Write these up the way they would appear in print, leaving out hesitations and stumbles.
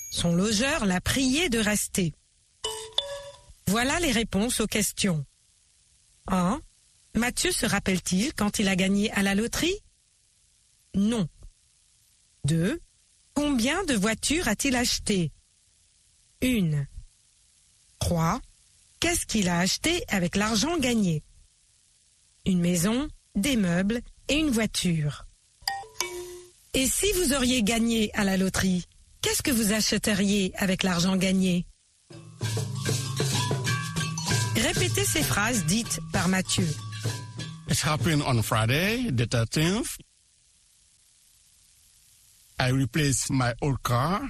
Son logeur l'a prié de rester. Voilà les réponses aux questions. 1. Mathieu se rappelle-t-il quand il a gagné à la loterie? Non. 2. Combien de voitures a-t-il acheté? 1. 3. Qu'est-ce qu'il a acheté avec l'argent gagné? Une maison, des meubles et une voiture. Et si vous auriez gagné à la loterie, qu'est-ce que vous achèteriez avec l'argent gagné? Répétez ces phrases dites par Mathieu. It happened on Friday, the 13th. I replaced my old car.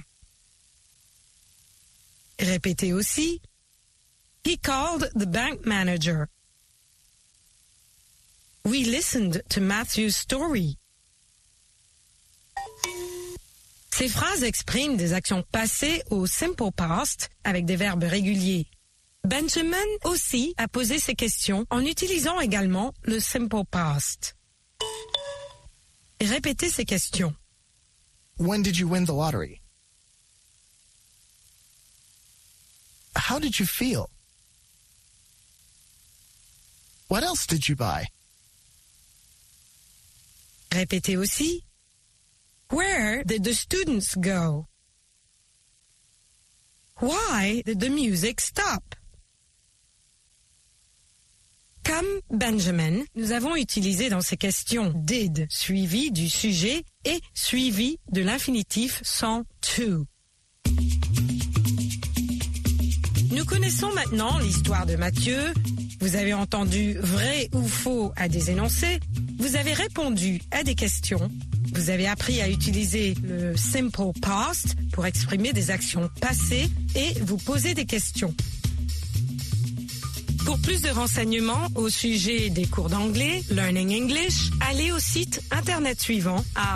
Répétez aussi. He called the bank manager. We listened to Matthew's story. Ces phrases expriment des actions passées au simple past avec des verbes réguliers. Benjamin aussi a posé ces questions en utilisant également le simple past. Répétez ces questions. When did you win the lottery? How did you feel? What else did you buy? Répétez aussi. Where did the students go? Why did the music stop? Comme Benjamin, nous avons utilisé dans ces questions did suivi du sujet et suivi de l'infinitif sans to. Nous connaissons maintenant l'histoire de Mathieu. Vous avez entendu vrai ou faux à des énoncés. Vous avez répondu à des questions. Vous avez appris à utiliser le simple past pour exprimer des actions passées et vous poser des questions. Pour plus de renseignements au sujet des cours d'anglais, Learning English, allez au site internet suivant à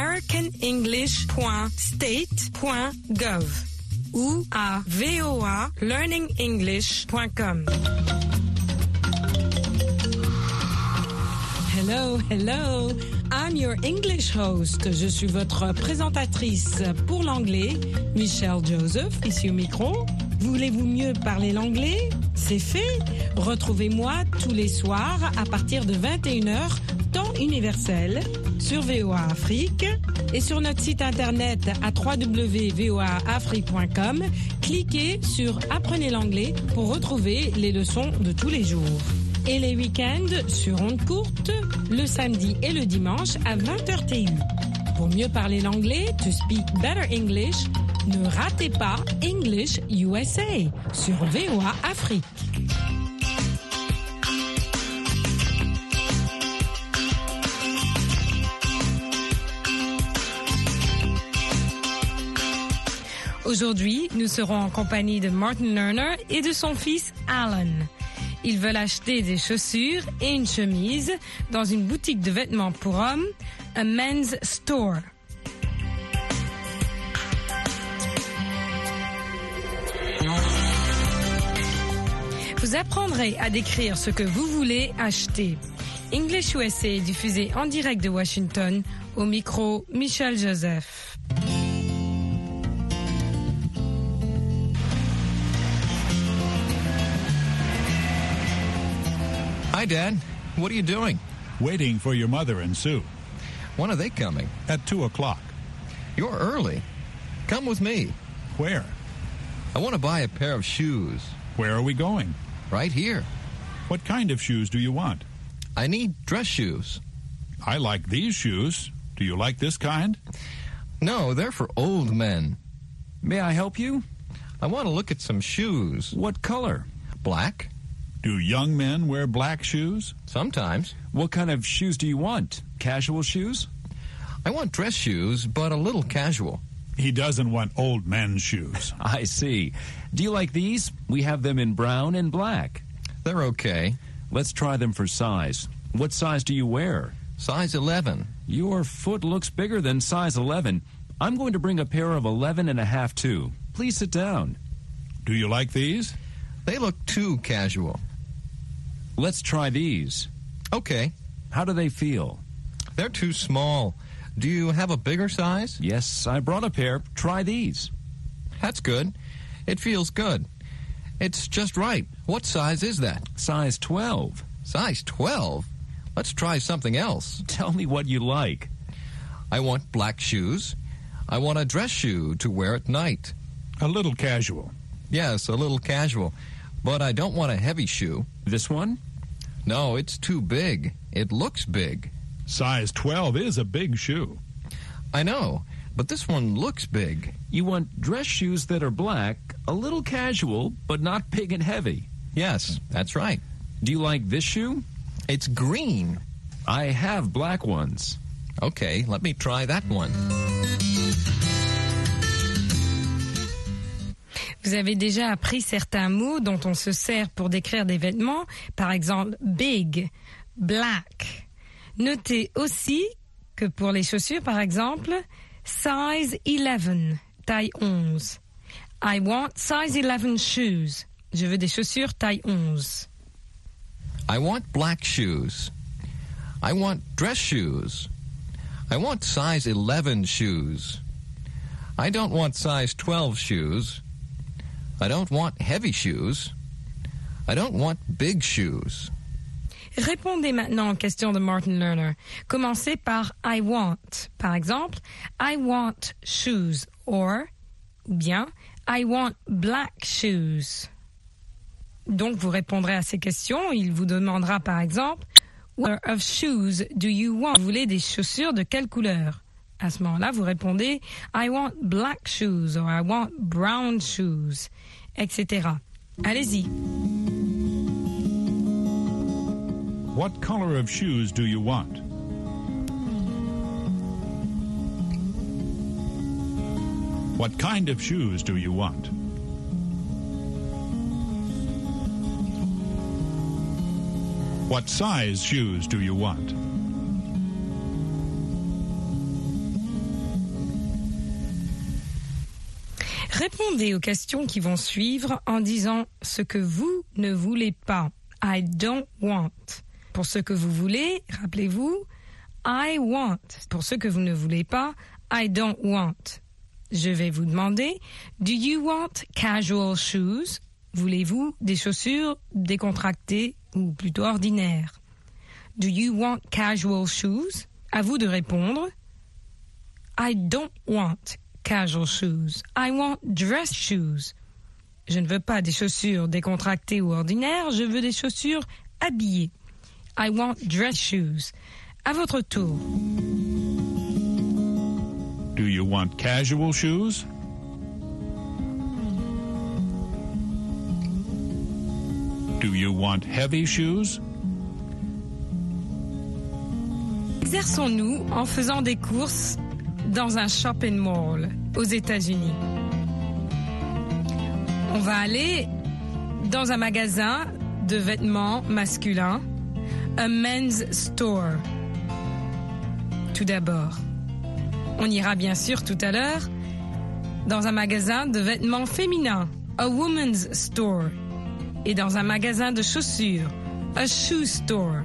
americanenglish.state.gov ou à voalearningenglish.com. Hello, hello. I'm your English host. Je suis votre présentatrice pour l'anglais, Michelle Joseph, ici au micro. Voulez-vous mieux parler l'anglais? C'est fait. Retrouvez-moi tous les soirs à partir de 21h, temps universel, sur VOA Afrique et sur notre site internet à www.voaafrique.com. Cliquez sur Apprenez l'anglais pour retrouver les leçons de tous les jours. Et les week-ends sur ondes courtes, le samedi et le dimanche à 20h TU. Pour mieux parler l'anglais, to speak better English, ne ratez pas English USA sur VOA Afrique. Aujourd'hui, nous serons en compagnie de Martin Lerner et de son fils Alan. Ils veulent acheter des chaussures et une chemise dans une boutique de vêtements pour hommes, a men's store. Vous apprendrez à décrire ce que vous voulez acheter. English USA est diffusé en direct de Washington, au micro Michelle Joseph. Hi, Dad. What are you doing? Waiting for your mother and Sue. When are they coming? At 2 o'clock. You're early. Come with me. Where? I want to buy a pair of shoes. Where are we going? Right here. What kind of shoes do you want? I need dress shoes. I like these shoes. Do you like this kind? No, they're for old men. May I help you? I want to look at some shoes. What color? Black. Do young men wear black shoes? Sometimes. What kind of shoes do you want? Casual shoes? I want dress shoes, but a little casual. He doesn't want old men's shoes. I see. Do you like these? We have them in brown and black. They're okay. Let's try them for size. What size do you wear? Size 11. Your foot looks bigger than size 11. I'm going to bring a pair of 11 and a half too. Please sit down. Do you like these? They look too casual. Let's try these. Okay. How do they feel? They're too small. Do you have a bigger size? Yes, I brought a pair. Try these. That's good. It feels good. It's just right. What size is that? Size 12. Size 12? Let's try something else. Tell me what you like. I want black shoes. I want a dress shoe to wear at night. A little casual. Yes, a little casual. But I don't want a heavy shoe. This one? No, it's too big. It looks big. Size 12 is a big shoe. I know, but this one looks big. You want dress shoes that are black, a little casual, but not big and heavy. Yes, that's right. Do you like this shoe? It's green. I have black ones. Okay, let me try that one. Vous avez déjà appris certains mots dont on se sert pour décrire des vêtements, par exemple big, black. Notez aussi que pour les chaussures, par exemple, size 11, taille 11. I want size 11 shoes. Je veux des chaussures taille 11. I want black shoes. I want dress shoes. I want size 11 shoes. I don't want size 12 shoes. I don't want heavy shoes. I don't want big shoes. Répondez maintenant aux questions de Martin Lerner. Commencez par I want. Par exemple, I want shoes ou bien I want black shoes. Donc vous répondrez à ces questions. Il vous demandera par exemple What color of shoes do you want? Vous voulez des chaussures de quelle couleur? À ce moment-là, vous répondez I want black shoes or I want brown shoes, etc. Allez-y. What color of shoes do you want? What kind of shoes do you want? What size shoes do you want? Répondez aux questions qui vont suivre en disant ce que vous ne voulez pas. I don't want. Pour ce que vous voulez, rappelez-vous, I want. Pour ce que vous ne voulez pas, I don't want. Je vais vous demander, do you want casual shoes? Voulez-vous des chaussures décontractées ou plutôt ordinaires? Do you want casual shoes? À vous de répondre. I don't want casual shoes. I want dress shoes. Je ne veux pas des chaussures décontractées ou ordinaires, je veux des chaussures habillées. I want dress shoes. À votre tour. Do you want casual shoes? Do you want heavy shoes? Exerçons-nous en faisant des courses dans un shopping mall aux États-Unis. On va aller dans un magasin de vêtements masculins, a men's store. Tout d'abord. On ira bien sûr tout à l'heure dans un magasin de vêtements féminins, a woman's store. Et dans un magasin de chaussures, a shoe store.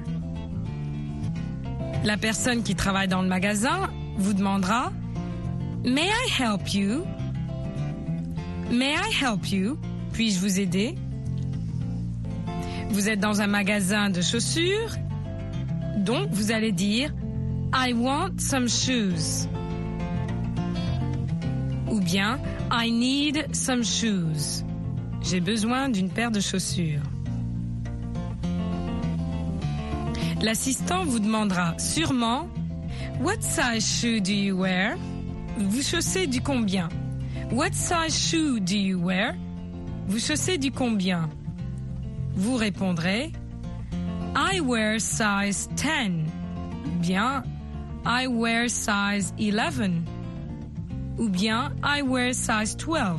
La personne qui travaille dans le magasin vous demandera « May I help you? May I help you? Puis-je vous aider? » Vous êtes dans un magasin de chaussures, donc vous allez dire « I want some shoes » ou bien « I need some shoes ». J'ai besoin d'une paire de chaussures. L'assistant vous demandera sûrement « What size shoe do you wear? » Vous chaussez du combien? What size shoe do you wear? Vous chaussez du combien? Vous répondrez I wear size 10. Bien I wear size 11. Ou bien I wear size 12.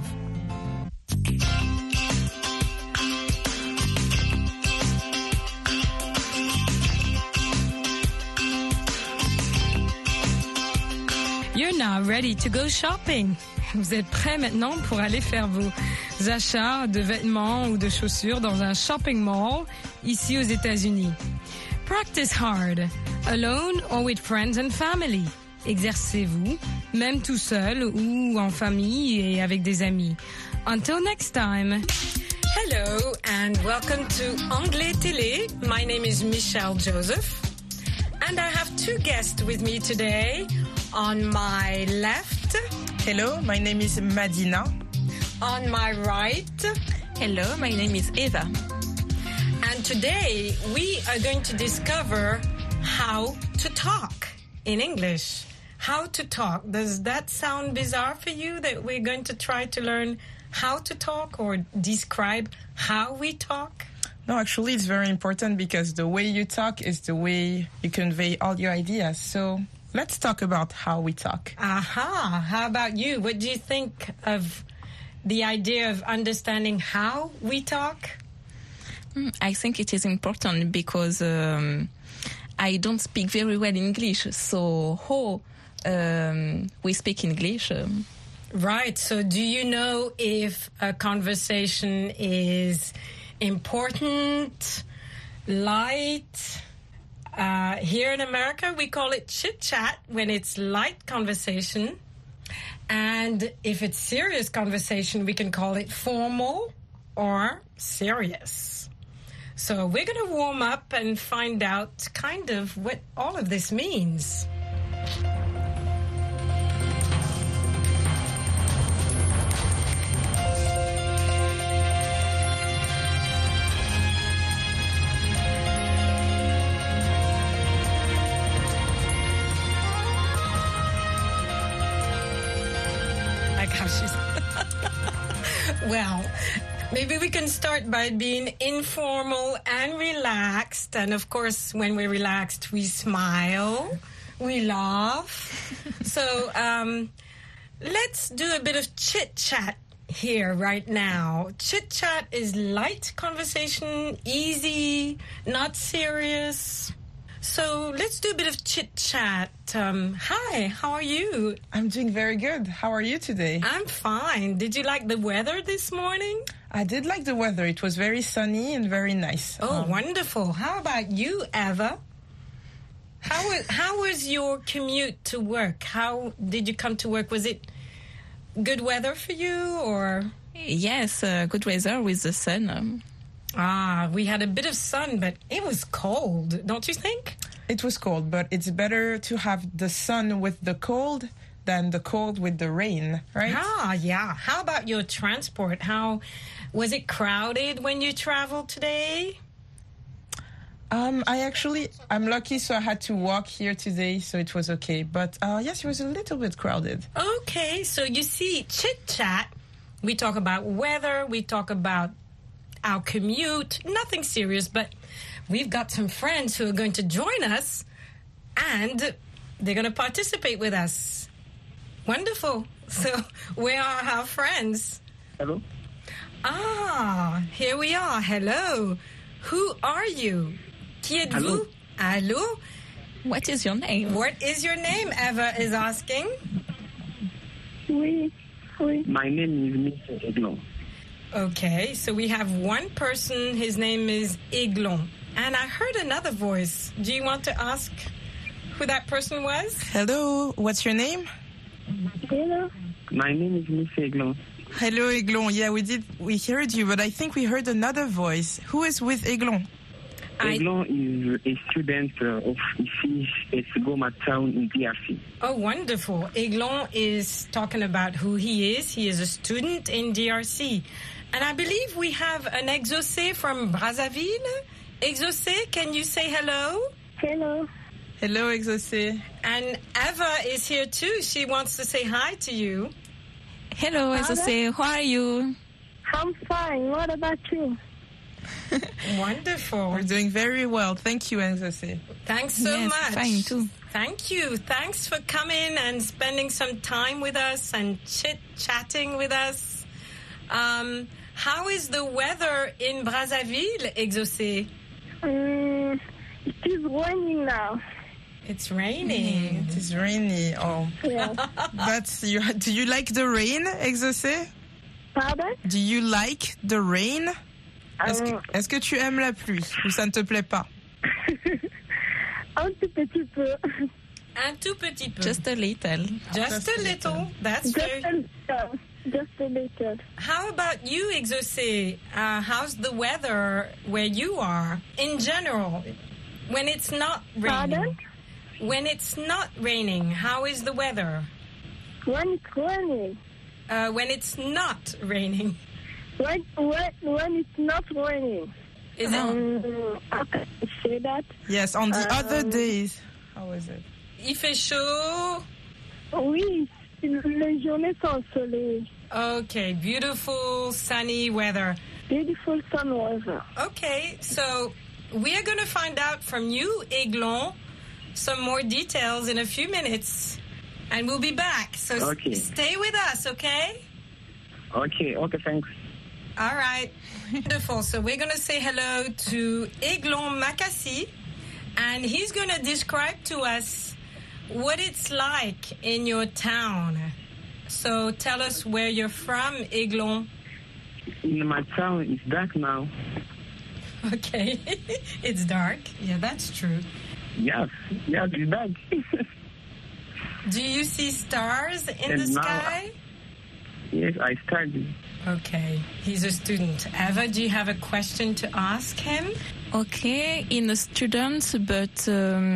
You're now ready to go shopping. Vous êtes prêts maintenant pour aller faire vos achats de vêtements ou de chaussures dans un shopping mall ici aux États-Unis. Practice hard, alone or with friends and family. exercez-vous, même tout seul ou en famille et avec des amis. Until next time. Hello and welcome to Anglais Télé. My name is Michelle Joseph and I have two guests with me today. On my left. Hello, my name is Madina. On my right. Hello, my name is Eva. And today we are going to discover how to talk in English. How to talk. Does that sound bizarre for you that we're going to try to learn how to talk or describe how we talk? No, actually it's very important because the way you talk is the way you convey all your ideas. So let's talk about how we talk. Aha. How about you? What do you think of the idea of understanding how we talk? I think it is important because I don't speak very well English. So how we speak English? Right. So do you know if a conversation is important, light? Here in America, we call it chit-chat when it's light conversation. And if it's serious conversation, we can call it formal or serious. So we're going to warm up and find out kind of what all of this means. Well, maybe we can start by being informal and relaxed. And of course, when we're relaxed, we smile, we laugh. So let's do a bit of chit-chat here right now. Chit-chat is light conversation, easy, not serious. So let's do a bit of chit-chat. Hi, how are you? I'm doing very good. How are you today? I'm fine. Did you like the weather this morning? I did like the weather. It was very sunny and very nice. Oh, wonderful. How about you, Eva? How was your commute to work? How did you come to work? Was it good weather for you or? Yes, good weather with the sun. We had a bit of sun, but it was cold, don't you think? It was cold, but it's better to have the sun with the cold than the cold with the rain, right? Yeah. How about your transport? How was it crowded when you traveled today? I'm lucky, so I had to walk here today, so it was okay. But yes, it was a little bit crowded. Okay, so you see, chit-chat, we talk about weather, we talk about our commute, nothing serious, but we've got some friends who are going to join us and they're going to participate with us. Wonderful. So where are our friends? Hello. Here we are. Hello. Who are you? Qui êtes-vous? Allô? What is your name? What is your name? Eva is asking. Oui. My name is Mr. Eglon. Okay, so we have one person, his name is Eglon. And I heard another voice. Do you want to ask who that person was? Hello, what's your name? Hello. My name is Mr. Eglon. Hello, Eglon. Yeah, we heard you, but I think we heard another voice. Who is with Eglon? Eglon is a student of IFI Esgoma town in DRC. Oh, wonderful. Eglon is talking about who he is. He is a student in DRC. And I believe we have an Exaucé from Brazzaville. Exaucé, can you say hello? Hello. Hello, Exaucé. And Eva is here too. She wants to say hi to you. Hello, Exaucé. How are you? I'm fine. What about you? Wonderful. We're doing very well. Thank you, Exaucé. Thanks so Yes, much. fine too. Thank you. Thanks for coming and spending some time with us and chit-chatting with us. How is the weather in Brazzaville, Exaucé? It is raining now. It's raining. It is rainy. Oh, Yeah. do you like the rain, Exaucé? Pardon? Do you like the rain? Est-ce que tu aimes la pluie ou ça ne te plaît pas? Un tout petit peu. Un tout petit peu. Just a little. Just a little. That's very... Just a little. How about you, Exaucé? How's the weather where you are in general? When it's not raining. Pardon? When it's not raining, how is the weather? When it's raining. When it's not raining. When it's not raining. Is it? How can I say that? Yes, on the other days. How is it? Il fait chaud. Oui, les journées sont ensoleillées. Okay, beautiful sunny weather. Beautiful sun weather. Okay, so we are going to find out from you, Aiglon, some more details in a few minutes. And we'll be back. So stay with us, okay? Okay, thanks. All right. Wonderful. So we're going to say hello to Aiglon Makassi, and he's going to describe to us what it's like in your town. So tell us where you're from, Aiglon. In my town, it's dark now. Okay. It's dark. Yeah, that's true. Yes, it's dark. Do you see stars in the sky? Yes, I study. Okay. He's a student. Eva, do you have a question to ask him? Okay, in a student, but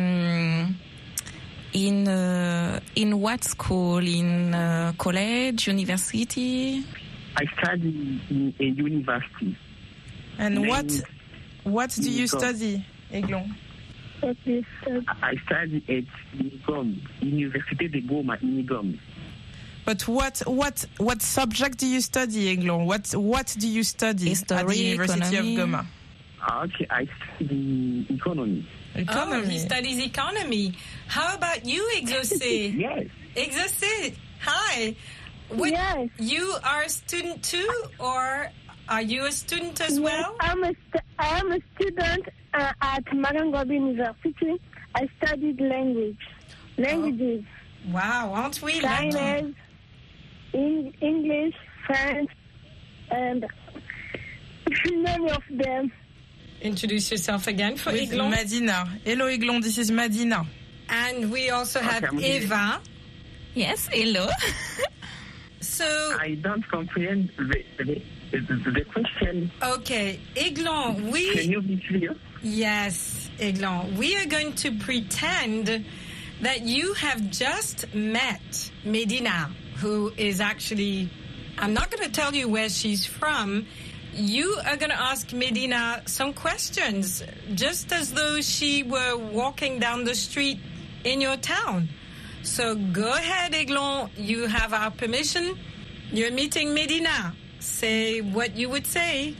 in what school? In college, university? I study in a university. And what do you study, Aiglon? I study at Unigom, Université de Goma, Unigom. But what subject do you study, Aiglon? What do you study History, at the University economy. of Goma? Okay, I study economy. Oh, he studies economy. How about you, Exaucé? Yes. Exaucé, hi. Yes. You are a student too, or are you a student as well? I am a student at Marangobi University. I studied languages. Wow, aren't we Chinese, lucky? English, French, and many of them. Introduce yourself again for With Aiglon. Madina. Hello, Aiglon. This is Madina. And we also have Okay, Eva. Yes, hello. So, I don't comprehend the question. okay, Aiglon, Can you be clear? Yes, Aiglon, we are going to pretend that you have just met Medina, who is actually, I'm not going to tell you where she's from. You are going to ask Medina some questions, just as though she were walking down the street in your town. So go ahead, Aiglon. You have our permission. You're meeting Medina. Say what you would say.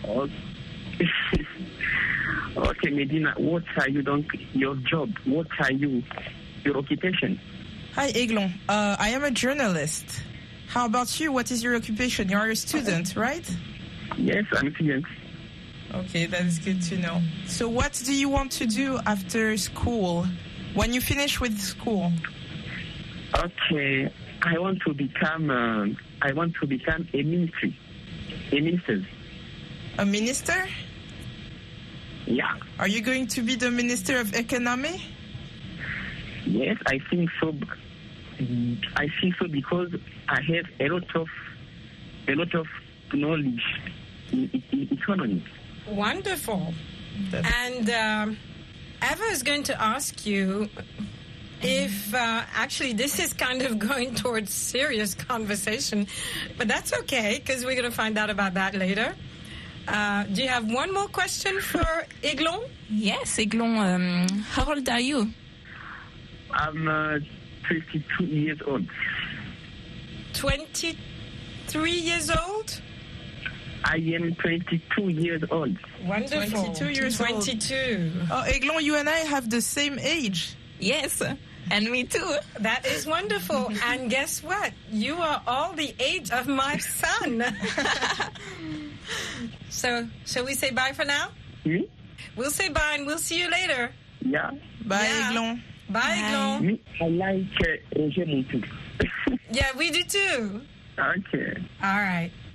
Okay, Medina, what are you doing? Your job? What are you? Your occupation? Hi, Aiglon. I am a journalist. How about you? What is your occupation? You are a student, right? Yes, I'm a student. Okay, that is good to know. So what do you want to do after school? When you finish with school? Okay, I want to become a minister. A minister? Yeah. Are you going to be the Minister of Economy? Yes, I think so. I think so because I have a lot of knowledge in economy. Wonderful. And Eva is going to ask you if, actually, this is kind of going towards serious conversation, but that's okay, because we're going to find out about that later. Do you have one more question for Aiglon? Yes, Aiglon, how old are you? I'm 22 years old. 23 years old? I am 22 years old. Wonderful. 22 years old. 22. Oh, Aiglon, you and I have the same age. Yes, and me too. That is wonderful. And guess what? You are all the age of my son. So, shall we say bye for now? Me? We'll say bye and we'll see you later. Yeah. Bye, Yeah. Aiglon. Bye, Aiglon. Me, I like Roger Montou. Yeah, we do too. Okay. All right.